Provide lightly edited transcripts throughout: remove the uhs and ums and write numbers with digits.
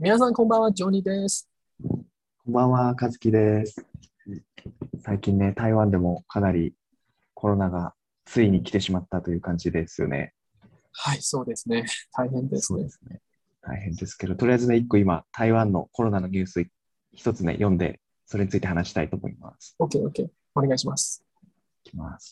皆さんこんばんは、ジョニーです。 こんばんは、和樹です。最近ね、台湾でもかなりコロナがついに来てしまったという感じですよね。 はい、そうですね。大変ですね。 そうですね。大変ですけど、とりあえずね、一個今、台湾のコロナのニュース一つね、読んで、それについて話したいと思います。 OK、OK。お願いします。 いきます。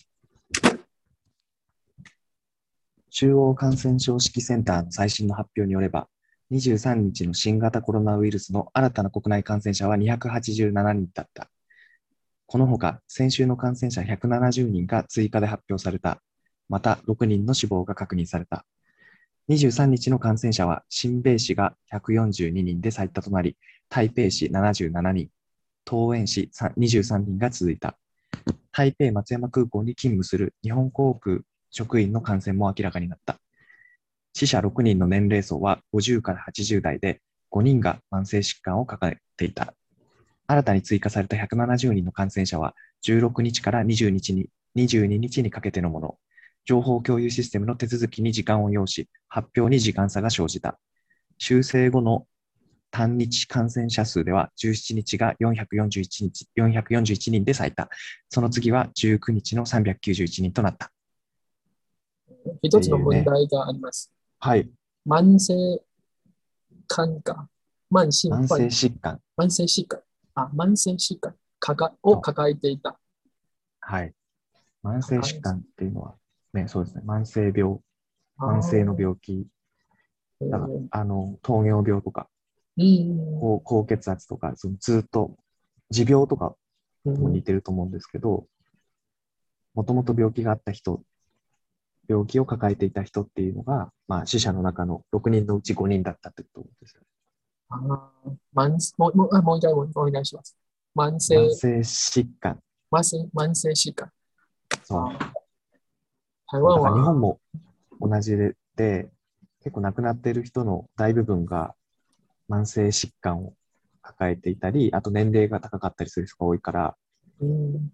中央感染症指揮センターの最新の発表によれば、23日の新型コロナウイルスの新たな国内感染者は287人だった。このほか、先週の感染者170人が追加で発表された。また、6人の死亡が確認された。23日の感染者は、新北市が142人で最多となり、台北市77人、桃園市23人が続いた。台北松山空港に勤務する日本航空職員の感染も明らかになった。死者6人の年齢層は50から80代で、5人が慢性疾患を抱えていた。新たに追加された170人の感染者は、16日から20日に22日にかけてのもの。情報共有システムの手続きに時間を要し、発表に時間差が生じた。修正後の単日感染者数では、17日が441人で最多。その次は19日の391人となった。っ一つのていうね。 問題があります。 はい。 慢性肝が、慢性慢性患、 疾患。 慢性疾患、慢性疾患をそう。 抱えていた。 はい。慢性抱え、 疾患っていうのは、ね、そうですね。慢性病、 あ慢性のー病気。だから、 ー糖尿病とか、 うん、 高血圧とか、そのずっと持病とかとも似うん、 てると思うんですけど、もともと病気があった人、病気を抱えていた人っていうのが、まあ、死者の中の6人のうち5人だったってことですよね。 もう一回お願いします。慢性、 慢性疾患。 慢性疾患。 そう。 台そう。だから日湾は、 本も同じで、結構亡くなっている人の大部分が慢性疾患を抱えていたり、あと年齢が高かったりする人が多いから、 うん、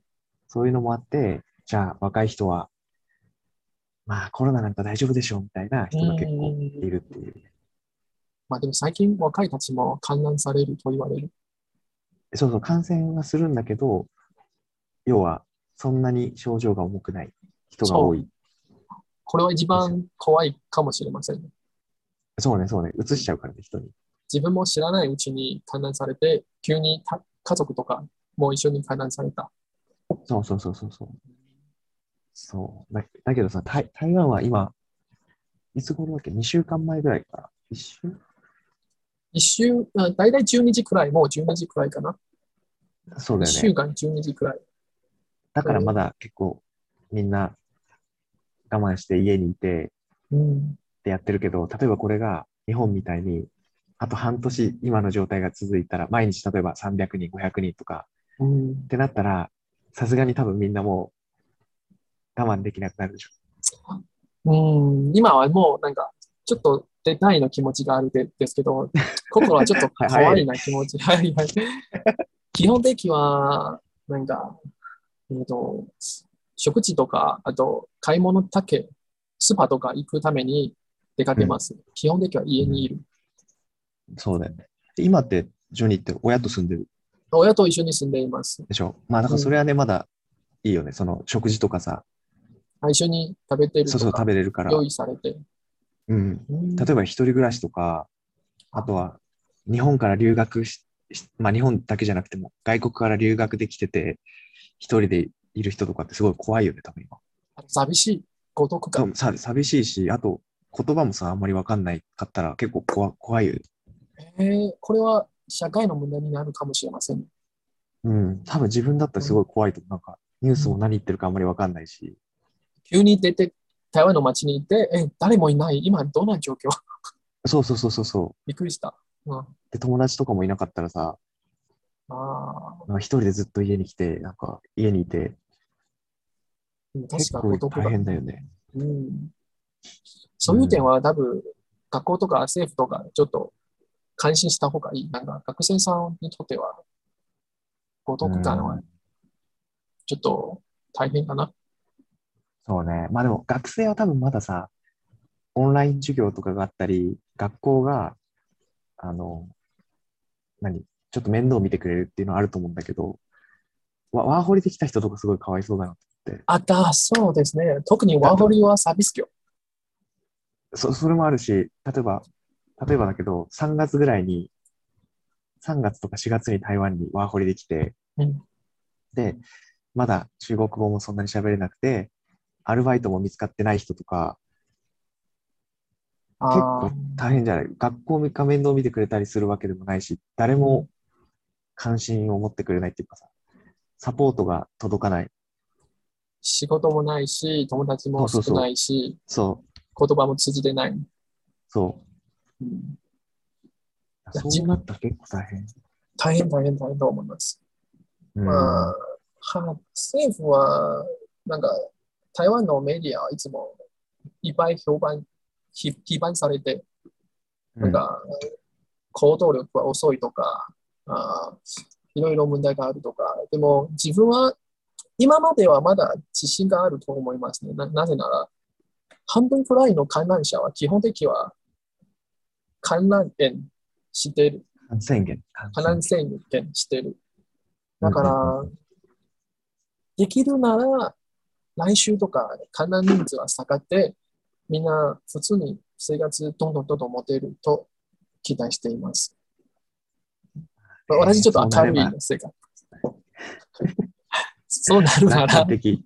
そういうのもあって、じゃあ若い人は、まあコロナなんか大丈夫でしょうみたいなう人が結構いん、 るっていう。 まあでも最近若いたちも観覧されると言われる。 そうそう、感染はするんだけど、要はそんなに症状が重くない人が多そう。 いこれは一ですよ。 番怖いかもしれませんね。 そうね、そうね、 うん、 移しちゃうからね、人に。 自分も知らないうちに観覧されて、急に家族とかも一緒に観覧された。 そうそうそうそうそう。そう。だけどさ、台湾は今、いつ頃だっけ？ 2 週間前ぐらいから。一週だいたい12時くらい、もう12時くらいかな。1 そうだよね。 週間12時くらい。 だからまえーだ結構みんな我慢して家にいてうん、 ってやってるけど、例えばこれが日本みたいに、あと半年今の状態が続いたら、毎日例えば300人、500人とかうん、 ってなったら、さすがに多分みんなもう我慢できなくなるでしょ。 うん、今はもうなんか、ちょっと出たいの気持ちがあるですけど、心はちょっとはい、早い怖いね。 な気持ち。はいはい。基本的は、なんか、えっと、食事とか、あと買い物だけ、スーパーとか行くために出かうん。 けます。基本的にはうん。 家にいる。 そうだよね。今って、ジョニーって親と住んでる親と一緒に住んでいます。 でしょ？まあ、だかうん。 らそれはね、まだいいよね。その食事とかさ、 一緒に食べてるそうそう食とか、 べれるから。 用意されて。 うん。 うん。 例えば一人暮らしとか、あとは日本から留学まあ日本だけじゃなくても外国から留学できてて、一人でいる人とかってすごい怖いよね、多分今。 寂しい、孤独感。 そう、寂しいし、あと言葉もさ、あんまりわかんないかったら結構怖いよね。 これは社会の問題になるかもしれませんね。 うん。多分自分だったらすごい怖いと思う。なんか、ニュースもうん、 何言ってるかあんまりわかんないし。 急に出て、台湾の街に行って、誰もいない。今どんな状況？ そうそうそうそうそびっくりした。うん、 う。で、友達とかもいなかったらさ、 あなんか一人でずっと家に来て、なんか家にいて、 確か結構大孤独が。 変だよね。 うん、そういう点うん。 は多分、学校とか政府とかちょっと関心した方がいい。なんか学生さんにとっては孤う独感はん。 ちょっと大変かな。 そうね。まあでも学生は多分まださ、オンライン授業とかがあったり、学校が、あの、 ちょっと面倒見てくれるっていうのはあると思うんだけど、ワーホリできた人とかすごいかわいそうだなって。 そうですね。特にワだ、だーホリはサービス業。 それもあるし、例えばだけど、3月とか4月に台湾にワーホリできて、 うん、 で、まだ中国語もそんなに喋れなくて、アルバイトも見つかってない人とか、結構あー大変じゃない？学校が面倒見てくれたりするわけでもないし、誰うん、 も関心を持ってくれないっていうかさ、サポートが届かない。 仕事もないし、友達も少なそうそうそう。 いし、 そう、 言葉も通じてない。 そうん、 う。 いやそうなったら結構大変。 大変と思います。 うまん。 あ、政府は、なんか、台湾のメディアはいつもいっぱい批判されて、 うん。 なんか、行動力が遅いとか、あいろいろ問題があるとか、でも自分は今まではまだ自信があると思いますね。なぜなら、半分くらいの観覧車は基本的には観覧券している。 感染源。感観覧染源。 券している。だかうんうんうんら、できるなら、来週とか観覧人数は下がって、みんな普通に生活どんどん持てると期待しています。私ちょっと明るいそうなれば、 性格。そうなるな楽観ら、 的。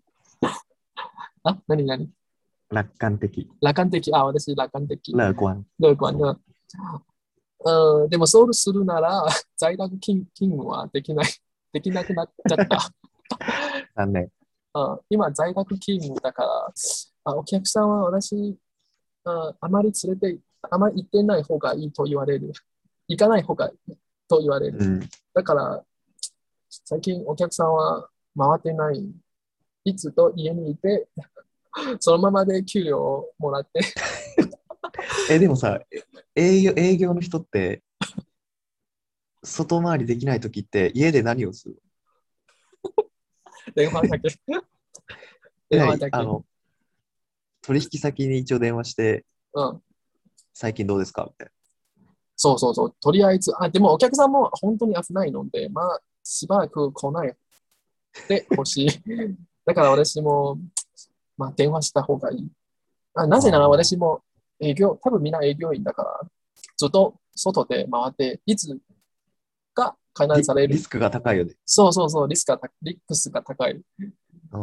何楽観的。 楽観的。私楽観的。 乐观。 乐观そう。 的。でもそうするなら、在宅勤務はできなくなっちゃった。 残念。 今、在宅勤務だから、お客さんは私、あまりあまり行ってない方がいいと言われる。行かない方がいいと言われる。 うん。 だから、最近お客さんは回ってない。いつと家にいて、そのままで給料をもらって、 でもさ、営業の人って、外回りできないときって家で何をする？ 電話だけ、電話だけ。 何取引先に一応電話して、 うん。 最近どうですかみたいそうそうそう。とりあえず、でもお客さんも本当に危ないので、まあ、しばらく来ないでほしい。だから私も、まあ、電話した方がいい。なな。 ぜならああ。 私も多分みんな営業員だから、ずっと外で回って、いつか観覧される。 リスクが高いよね。 そうそうそう、リスクが高い。 うん。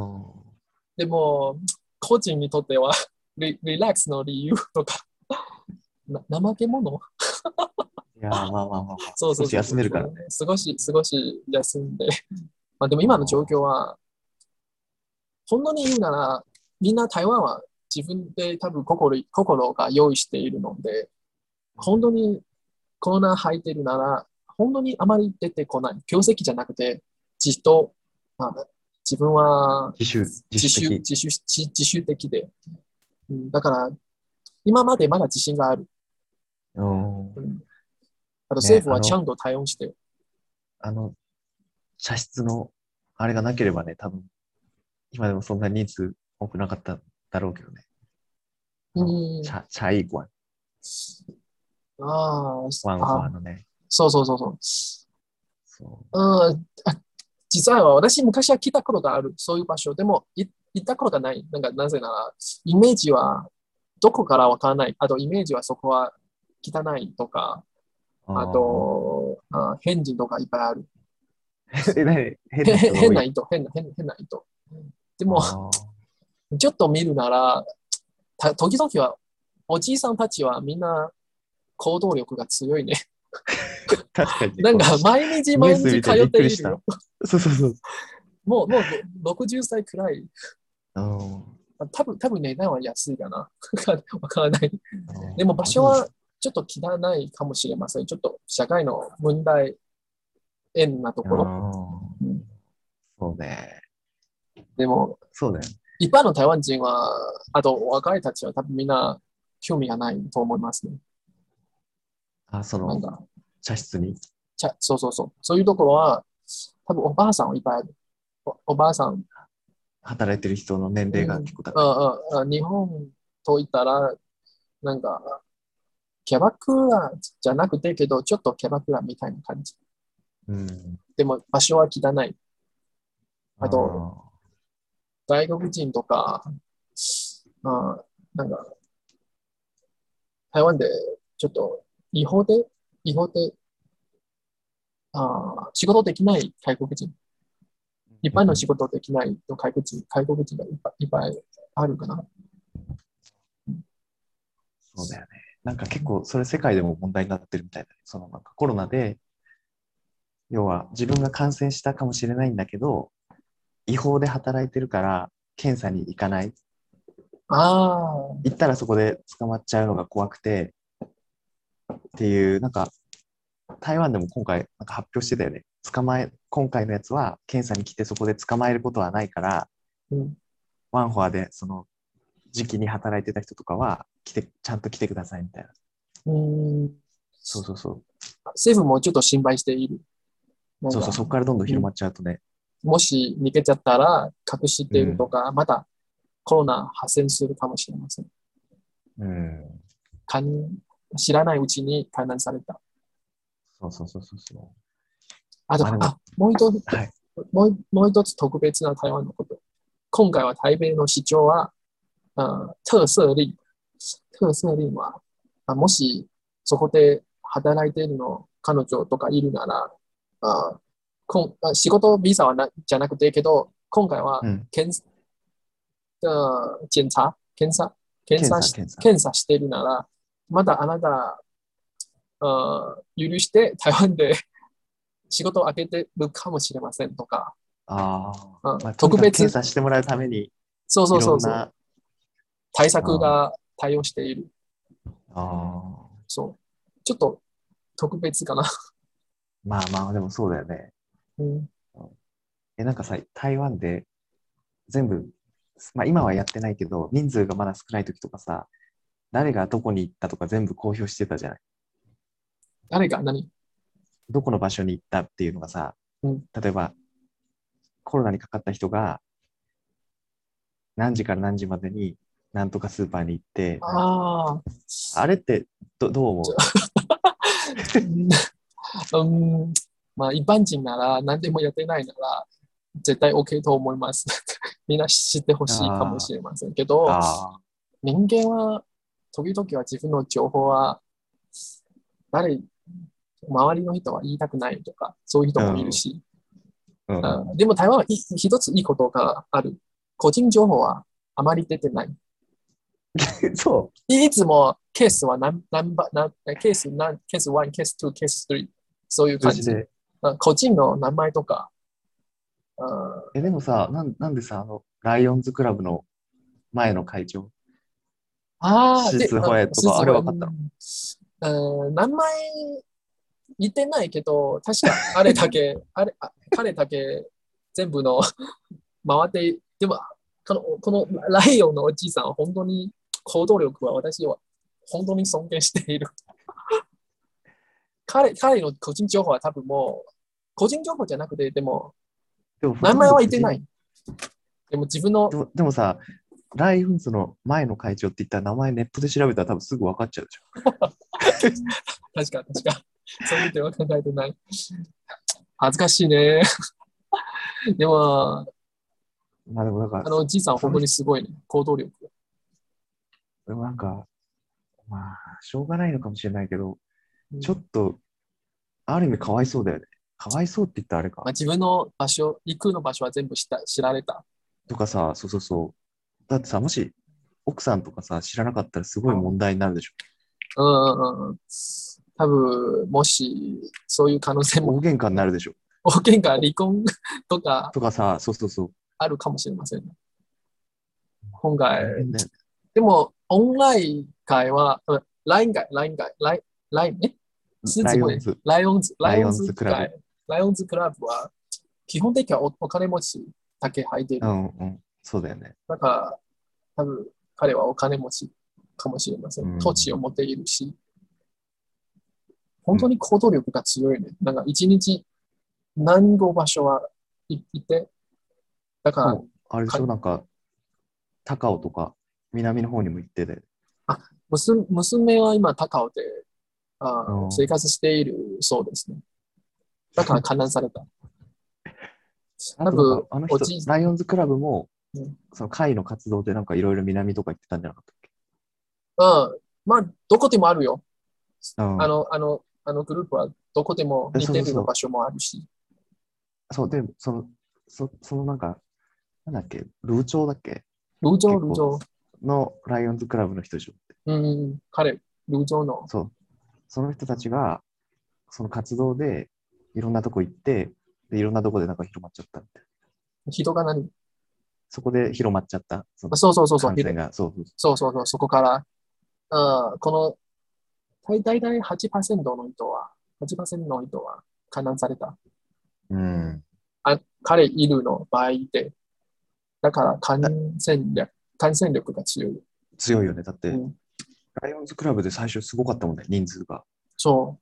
でも、個人にとってはリラックスの理由とか、怠け者いやー、まあまあまあまあ。少しそうそうそう休めるからね。 そう。少し休んで。まあでもあ今の状況ーは、本当に言うなら、みんな台湾は自分で多分心が用意しているので、本当にコロナ入ってるなら、本当にあまり出てこない。業績じゃなくて、じっと、まあ、自分は自主的。 自主的で。だから、今までまだ自信がある。 うん。 うん、あとね、 政府はちゃんと対応して。 あの、茶室の、あれがなければね、多分、今でもそんな人数多くなかっただろうけどね。 うん、 茶艺館、 あワンあ、 ファーのね。 そうそうそうそう。 そ実は私昔は来たことがある。そういう場所。でも、行ったことがない。なぜなら、イメージはどこからわからない。あと、イメージはそこは汚いとか、 う。 あああ。 と、変人とかいっぱいある。 変な人が多い？ 変な人。でも、 ああ。 ちょっと見るなら、時々は、おじいさんたちはみんな行動力が強いね。 確かにね、 なんか、 ニュー毎日通っス見てびっくりした。 ているよ。 そうそうそう。 もう60歳くらい。 うん。 多分値段は安いかな。わからない。でも場でも、 所はちょっと汚いかもしれません。ちょっと社会の問題円なところ。うん、 そうね。 でも、 そうだよ。 一般の台湾人は、あと若いたちは多分みんな興味がないと思いますね。 その、 なんか、 茶室に。 そうそうそう。そういうところは、多分おばあさんはいっぱいある。おばあさん。 働いてる人の年齢がうん、 結構高い。 日本といったら、なんか、キャバクラじゃなくてけど、ちょっとキャバクラみたいな感じ。 うん。 でも場所は汚い。 ああと、 あ。 外国人とか、なんか、台湾でちょっと違法で、仕事できない外国人、一般の仕事できないの外国人がいっぱいあるかな。 そうだよね。なんか結構それ世界でも問題になってるみたいだね。そのなんかコロナで、要は自分が感染したかもしれないんだけど、違法で働いてるから検査に行かない。 ああ、 行ったらそこで捕まっちゃうのが怖くてっていう、なんか台湾でも今回なんか発表してたよね。今回のやつは検査に来てそこで捕まえることはないから、 うん、 ワンフォアでその時期に働いてた人とかはちゃんと来てくださいみたいな。 うん、 そうそうそう。 政府もちょっと心配している。なんそうそう、 か、 そこからどんどんうん、 広まっちゃうとね。 もし逃げちゃったら隠しているとうん。 か、またコロナ発生するかもしれません。 うん。 かん知らないうちに感染された。 そうそうそうそうそう。 あと、 まあでも、はい。 もう一つ特別な台湾のこと。今回は台北の市長は、特色令。特色令は、もしそこで働いているの彼女とかいるなら、仕事ビザはじゃなくてけど、今回はうん。 検査、検査、検検査、 査し、 検査。 検査しているなら、まだあなた、許して台湾で仕事を開けてるかもしれませんとか、 ああ。まあ、とにかく検特別、 査してもらうために、 そうそいうそうそう、 ろんな、 対あー策が対応している。 あー、 そう。ちょっと特別かな。 まあまあ、でもそうだよね。 うん、 なんかさ、台湾で全部、まあ今はやってないけど、人数がまだ少ない時とかさ、誰がどこに行ったとか全部公表してたじゃない。 誰が何どこの場所に行ったっていうのがさ、 うん。 例えばコロナにかかった人が何時から何時までになんとかスーパーに行って、 ああ、 あれってどう思う？ うん、まあ一般人なら何でもやってないなら絶対 OK と思います。みんな知ってほしいかもあしれませんけど、 あ、あ人間は時々は自分の情報は誰、周りの人は言いたくないとか、そういう人あ、 もいるうん、 し、 うん。 でも台湾は一ついいことがある。個人情報はあまり出てない。 そいつもケースはケース1、ケース2、ケース3、そういうう、数感じ。 字で。 個人の名前とか、あでもさ、なんでさ、ライオンズクラブの前の会長、シで、 スホエとか、あれすごい、 分かったの？ 名前言ってないけど、確かあれだけ、彼だけ全部の回って、でも、このライオンのおじいさんは本当に行動力は私は本当に尊敬している。彼の個人情報は多分もう、個人情報じゃなくて、でも、 でもほとん名前ど個人、 は言ってない。でも自分の、 でもさ、ライオンズの前の会長って言ったら名前ネットで調べたら多分すぐ分かっちゃうでしょ。 確か、そういう点は考えてない。恥ずかしいね。でも、 まあでもなんか、 おじいさんは本当その人、 にすごいね。行動力。 でもなんか、まあ、しょうがないのかもしれないけど、ちょうん、 っと、ある意味かわいそうだよね。かわいそうって言ったらあれか。 まあ、自分の場所、行くの場所は全部知られた。 とかさ、そうそうそう。だってさ、もし奥さんとかさ、知らなかったらすごい問うん題になるでしょ。 うんうん。多分、もし、そういう可能性も、 大喧嘩になるでしょ。 大喧嘩、離婚とかとかさ、そうそうそう。 あるかもしれませんね。今回、 大変だよね。 でも、オンライン会は、ライン、狮子会、 ライオンズ、 ライオンライオンズズ会、 クラブ。 ライオンズクラブは、基本的にはお金持ちだけ入っている。 うんうん。そうだよね。 だから、多分、彼はお金持ちかもしれませうん。土地をん。 持っているし、 うん。 本当に行動力が強いね。なんか、一日何個場所はいて、だから、 しかも、あれでしかょ、なんか、高尾とか、南の方にも行ってて。 娘は今、高尾でうん。 生活しているそうですね。 だから観覧された。 あとなん多分、 か、あの人、 おじい、 ライオンズクラブも、 うん、 その会の活動でなんかいろいろ南とか行ってたんじゃなかったっけ？ まあ、どこでもあるよ。 うん。 あのグループはどこでも似てそうそうそるの場所もあるし。 う。そう、で、そのなんか、なんだっけ、ルーチョーだっけ？結構、 ルージョ。 のライオンズクラブの人でしょ。 うん、彼、ルージョのそう。その人たちが、その活動で、いろんなとこ行って、で、いろんなとこでなんか広まっちゃったみたいな。 人が何そこで広まっちゃった、そのそうそうそうそう、 感染が。そうそうそそうそうそう、そこから、この、大体8%の人は、8%の人は観覧された。 う。うん。 彼いるの場合で、だからだ感染力が強い。 強いよね。だって、 うん、 ライオンズクラブで最初すごかったもんね、人数が。 そう。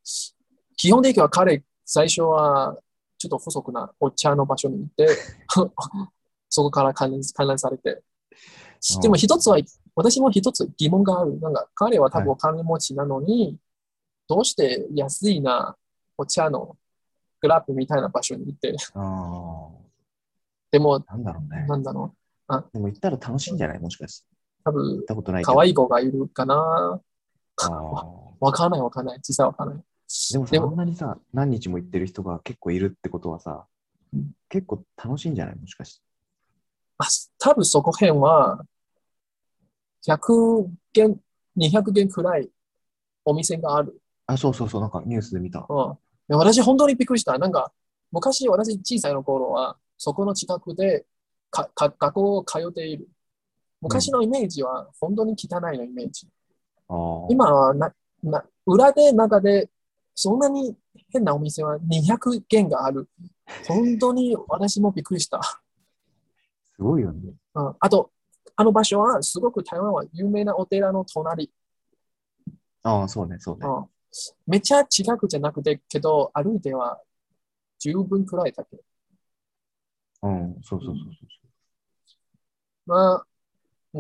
基本的には彼、最初はちょっと不足なお茶の場所に行って、そこから観覧されて。でもうん。 一つは、私も一つ疑問がある。なんか彼は多はい。 分お金持ちなのに、どうして安いなお茶のクラブみたいな場所に行って、 ああ、 でも、 なんだろうね。 なんだろう。 でも行ったら楽しいんじゃない？もしかして。 多分、 行ったことないけど。 可愛い子がいるかな。 あわ、 あ。 わからないわからない。実際わからない。 でもさ、あんでも、 なにさ、何日も行ってる人が結構いるってことはさ、結構楽しいんじゃない？もしかして。 あ、多分そこ辺は、100軒、200軒くらいお店がある。 あ、そうそうそう、なんかニュースで見た。 うん。で私本当にびっくりした。なんか、昔私小さいの頃は、そこの近くで学校を通っている。 うん。 昔のイメージは本当に汚いのイメージ。 ああ、 今は裏で中でそんなに変なお店は200軒がある。本当に私もびっくりした。 すごいよね。 うん、あと、あの場所はすごく台湾は有名なお寺の隣。 ああ、そうね、そうね。 うん、めっちゃ近くじゃなくて、けど歩いては十分くらいだけど。 うん、そううん、 そうそうそう。 まあ、うん、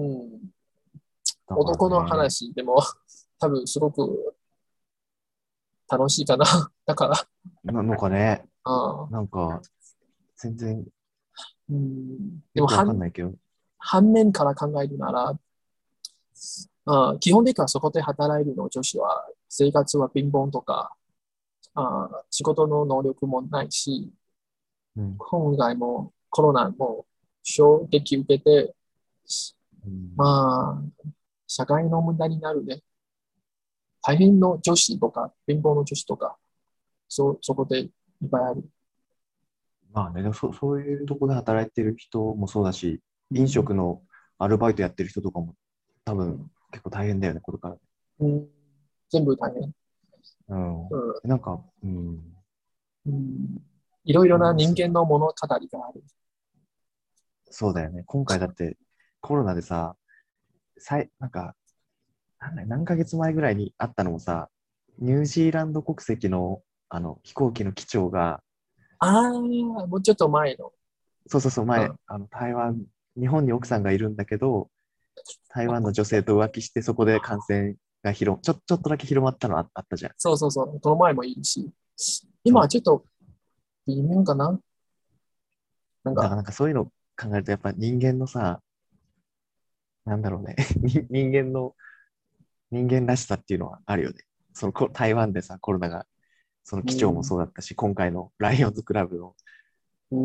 だから男のね、 話でも多分すごく楽しいかな。だから、 なんかね、 あなんか、全然でもよくわかんないけど、 反面から考えるなら、基本的にはそこで働いてるの女子は生活は貧乏とか、仕事の能力もないし、 うん、 今回もコロナも衝撃受けて、 うん、 まあ、社会の問題になるね。大変の女子とか、貧乏の女子とか、そこでいっぱいある。 まあね、でもそういうとこで働いてる人もそうだし、飲うん、 食のアルバイトやってる人とかも多分うん、 結構大変だよね、これから。 うん、全部大変。 うん。 うん、 なんか、うん、 うん、いろいろな人ありますよ。 間の物語がある。 そうだよね。今回だってコロナでさ、なんか、何ヶ月前ぐらいにあったのもさ、ニュージーランド国籍の、飛行機の機長が、 もうちょっと前の。 そうそうそう、前、 うん、 日本に奥さんがいるんだけど、台湾の女性と浮気して、そこで感染がちょっとだけ広まったのあったじゃん。 そうそうそう。この前もいるし。今はそちょっと微妙かな。なんう。だからか、 なんかそういうの考えると、やっぱ人間のさ、なんだろうね、人間らしさっていうのはあるよね。台湾でさ、コロナが、その機長もうん、 そうだったし、今回のライオンズクラブのうん、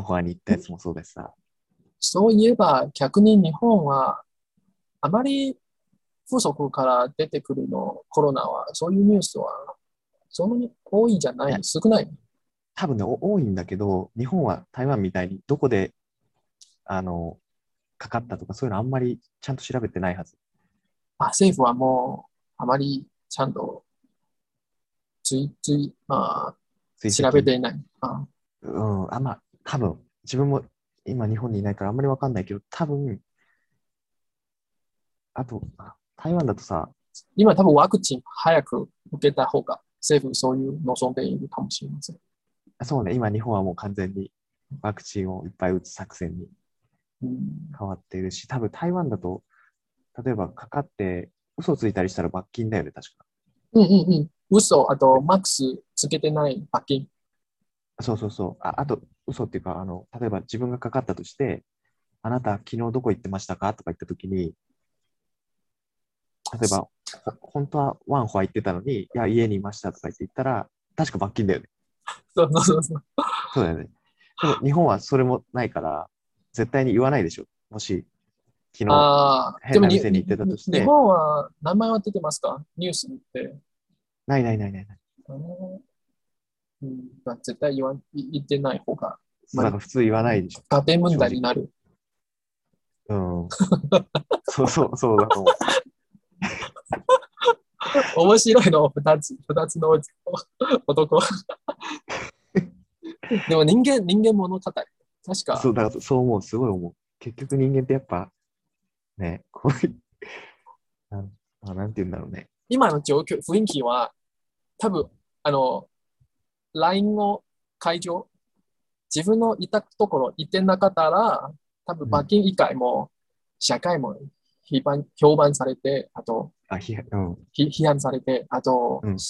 ワンフォアに行ったやつもそうだしさ、 そういえば逆に日本はあまり風俗から出てくるのコロナは、そういうニュースはそんなに多いじゃないや、 い、少ない。 多分ね、多いんだけど、日本は台湾みたいにどこで、あの、かかったとか、そういうのあんまりちゃんと調べてないはず。 政府はもうあまりちゃんと追跡。 調べていない。 うん、まあ、多分、自分も今日本にいないからあんまりわかんないけど、多分、あと、台湾だとさ、 今多分ワクチン早く受けた方が政府そういう望んでいるかもしれません。 そうね、今日本はもう完全にワクチンをいっぱい打つ作戦にうん、 変わっているし、多分台湾だと、例えばかかって嘘ついたりしたら罰金だよね、確か。 うんうんうん。嘘、あとでマックスつけてない罰金。 そうそうそう。あと、嘘っていうか、例えば自分がかかったとして、あなた昨日どこ行ってましたかとか言ったときに、例えば、本当はワンホア行ってたのに、いや、家にいましたとか言って言ったら、確か罰金だよね。 そうそうそうそう。 そうだよね。でも日本はそれもないから、絶対に言わないでしょ。もし、昨日で変な店に行ってたとし日て、 本は名前は出てますかニュースって。 ないないないないない。 あのまあ、絶対言ってない方が、 そう、 まあ、 だから普通言わないでしょ。 家庭問正直。 題になる。 うん。そうそう、そうだと思面白いの二つの男。でも人間物語。確う。そか、 う、だからそう思う、すごい思う。結局人間ってやっぱ、ね、こういう、なんて言うんだろうね。 今の状況、雰囲気は、多分、あの、LINE の会場、自分のいたところ行ってなかったら、多分うん。 罰金以外も、社会も評判されて、あと、 うん。 批判されて、あと、 うん。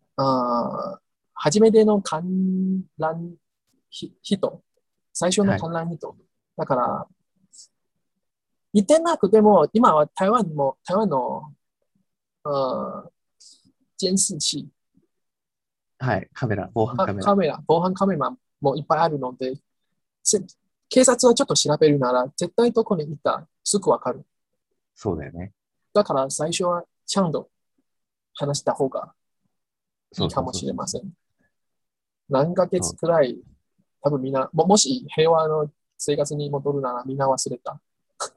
初めての観覧人、最初のはい。 観覧人。だから、行ってなくても、今は台湾の、あ監視器、 はい。防犯カメラ。 防犯カメラもいっぱいあるので、警察はちょっと調べるなら、絶対どこにいた、すぐわかる。 そうだよね。 だから最初はちゃんと話した方がいそういかもそうそうそう。 しれません。何ヶそう。 月くらい、多分みんな、もし平和の生活に戻るならみんな忘れた。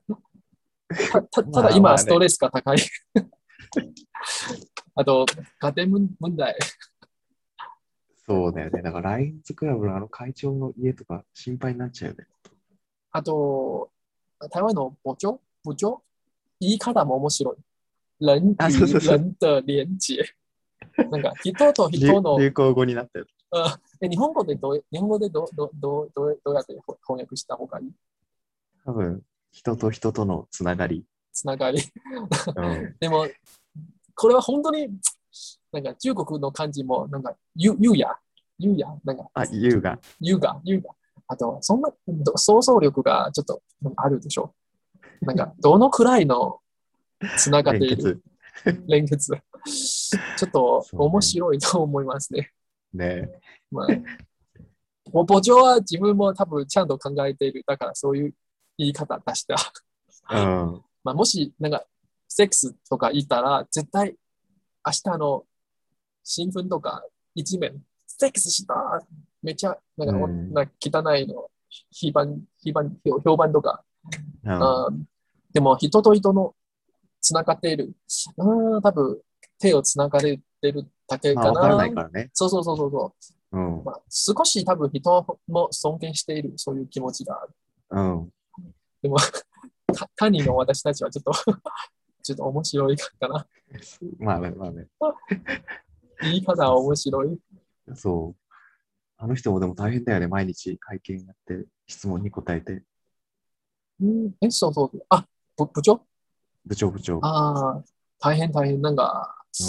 ただ今ストまあまあね。 レスが高い。あと、家庭問題。 そうだよね。だからラインズクラブのあの会長の家とか心配になっちゃうよね。 あと、台湾の部長言い方も面白い。人あ、そう与そうそう。 人的連接。なんか人と人の、 流行語になったよ。 日本語でどうやって翻訳した方がいい多分、人と人とのつながり。 つながり。 うん。 でも、これは本当に、なんか中国の漢字も、なんか、優雅、なんか、 あ、優雅。 優雅。あと、そんな、想像力がちょっとあるでしょ。なんか、どのくらいのつながっている連結。 連結。ちょっと面そうね。 白いと思いますね。 ね。 まあ、母長は自分も多分ちゃんと考えている。だからそういう言い方出した。 うん。 まあ、もし、なんか、セックスとか言ったら、絶対明日の新聞とか一面、セックスしためっちゃ、なんか、 うん。 なんか汚いの、評判とか、 うん。 あでも人と人のつながっている。多分手をつながれてるだけまあ、わからなかな。 いからね。 そう。 うん。 まあ、少し多分人も尊敬している、そういう気持ちがある。 うん。 でも、他人の私たちはちょっとちょっと面白いかな。 まあね、まあね。 言い方はさす。 面白い。 そう。あの人もでも大変だよね。毎日会見やって、質問に答えて。 そうそう。部長部長。 ああー、大変。なんか、 うん。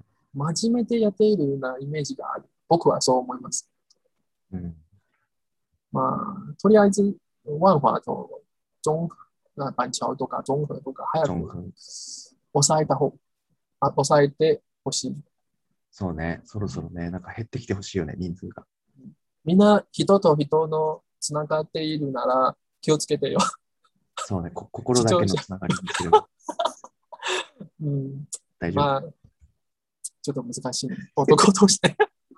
真面目でやっているようなイメージがある。僕はそう思います。 うん。 まあ、とりあえず、万華と板橋とか综合とか早くジョンフン。 抑えた方、抑えてほしい。 そうね。そろそろね、なんか減ってきてほしいよね、人数が。 みんな人と人のつながっているなら気をつけてよ。 そうね。心だけ視聴者。 のつながりにすればうん、 大丈夫。 まあ、ちょっと難しいね。男として。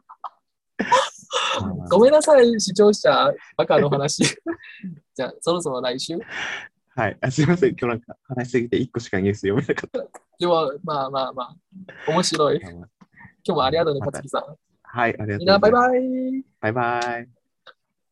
まあまあまごめんなさい、視聴者、バカの話。じゃあ、そろそろ来週。 あ。はい。すいません。今日なんか話しすぎて1個しかニュース読めなかった。 でも、まあ、面白い。 まあまあ、 今日もありがとうね、 また。 勝木さん。 はい。ありがみんな、バイとうございます。 バイ。 バイバイ。